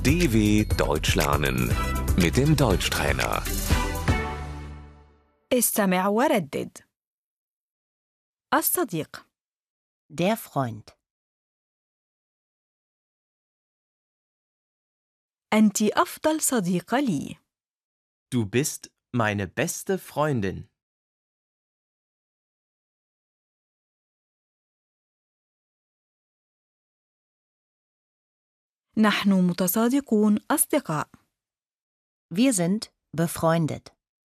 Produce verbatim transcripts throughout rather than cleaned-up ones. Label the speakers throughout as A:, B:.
A: D W Deutsch lernen mit dem Deutschtrainer.
B: استمع وردد. الصديق.
C: Der Freund.
B: أنت أفضل صديقة لي.
D: Du bist meine beste Freundin.
B: نحن متصادقون أصدقاء.
C: Wir sind befreundet.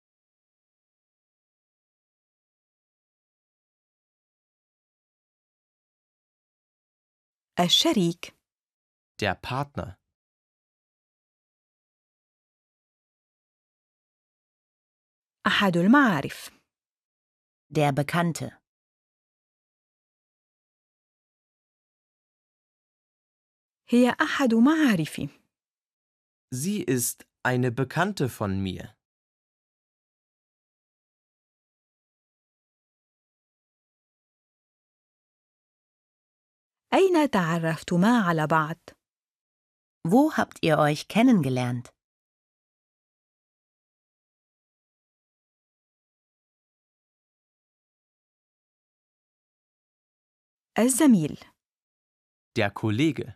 B: الشريك.
D: Der Partner.
B: أحد المعارف.
C: Der Bekannte.
B: هي أحد معارفي.
D: Sie ist eine Bekannte von mir.
B: أين تعرفتما على بعض؟
C: Wo habt ihr euch kennengelernt?
B: الزميل.
D: Der Kollege.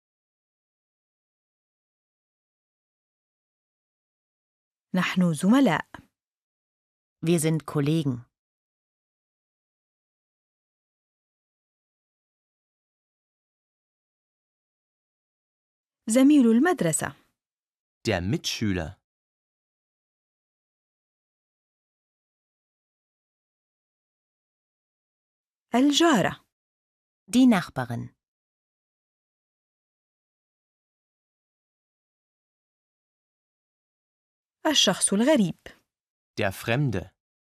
B: نحن زملاء.
C: Wir sind Kollegen.
B: زميل المدرسة.
D: Der Mitschüler.
B: الجارة.
C: Die Nachbarin.
B: الشخص الغريب.
D: Der Fremde.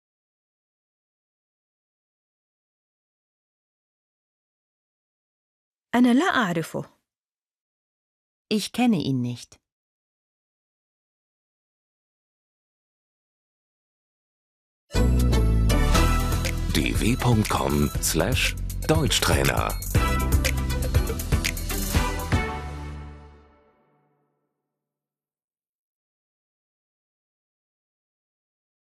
B: أنا لا أعرفه.
C: Ich kenne ihn nicht.
A: d w punkt com slash Deutschtrainer